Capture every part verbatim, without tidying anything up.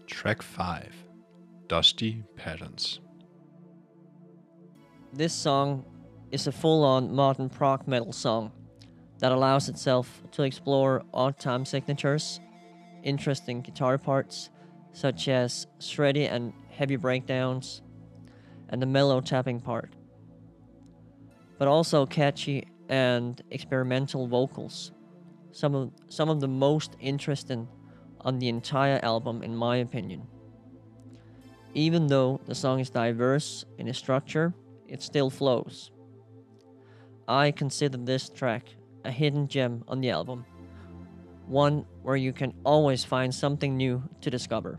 Track five, Dusty Patterns. This song is a full-on modern prog metal song that allows itself to explore odd time signatures, interesting guitar parts such as shreddy and heavy breakdowns, and the mellow tapping part, but also catchy and experimental vocals, some of, some of the most interesting on the entire album in my opinion. Even though the song is diverse in its structure, it still flows. I consider this track a hidden gem on the album, one where you can always find something new to discover.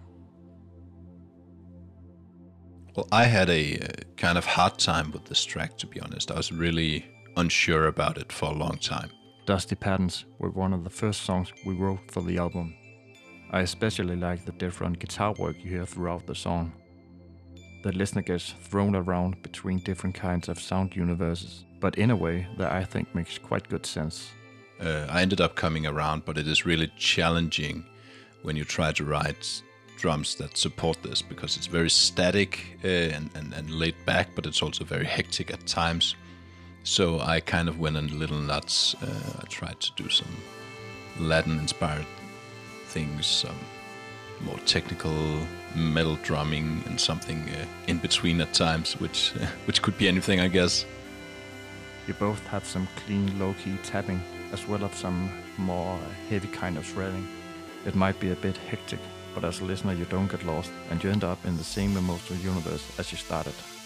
Well, I had a uh, kind of hard time with this track, to be honest. I was really unsure about it for a long time. Dusty Patterns were one of the first songs we wrote for the album. I especially like the different guitar work you hear throughout the song. The listener gets thrown around between different kinds of sound universes, but in a way that I think makes quite good sense. Uh, I ended up coming around, but it is really challenging when you try to write drums that support this, because it's very static uh, and, and, and laid back, but it's also very hectic at times. So I kind of went a little nuts. Uh, I tried to do some Latin-inspired things, some more technical metal drumming, and something uh, in between at times, which uh, which could be anything, I guess. You both have some clean, low-key tapping, as well as some more heavy kind of shredding. It might be a bit hectic, but as a listener you don't get lost, and you end up in the same emotional universe as you started.